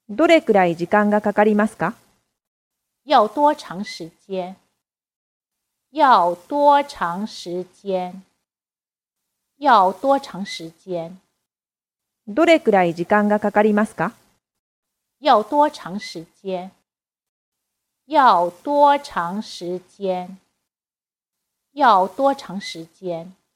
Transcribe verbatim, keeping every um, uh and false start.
どれくらい時間がかかりますか？ 要多长时间？要多长时间？要多长时间？ どれくらい時間がかかりますか？ 要多长时间？要多长时间？要多长时间？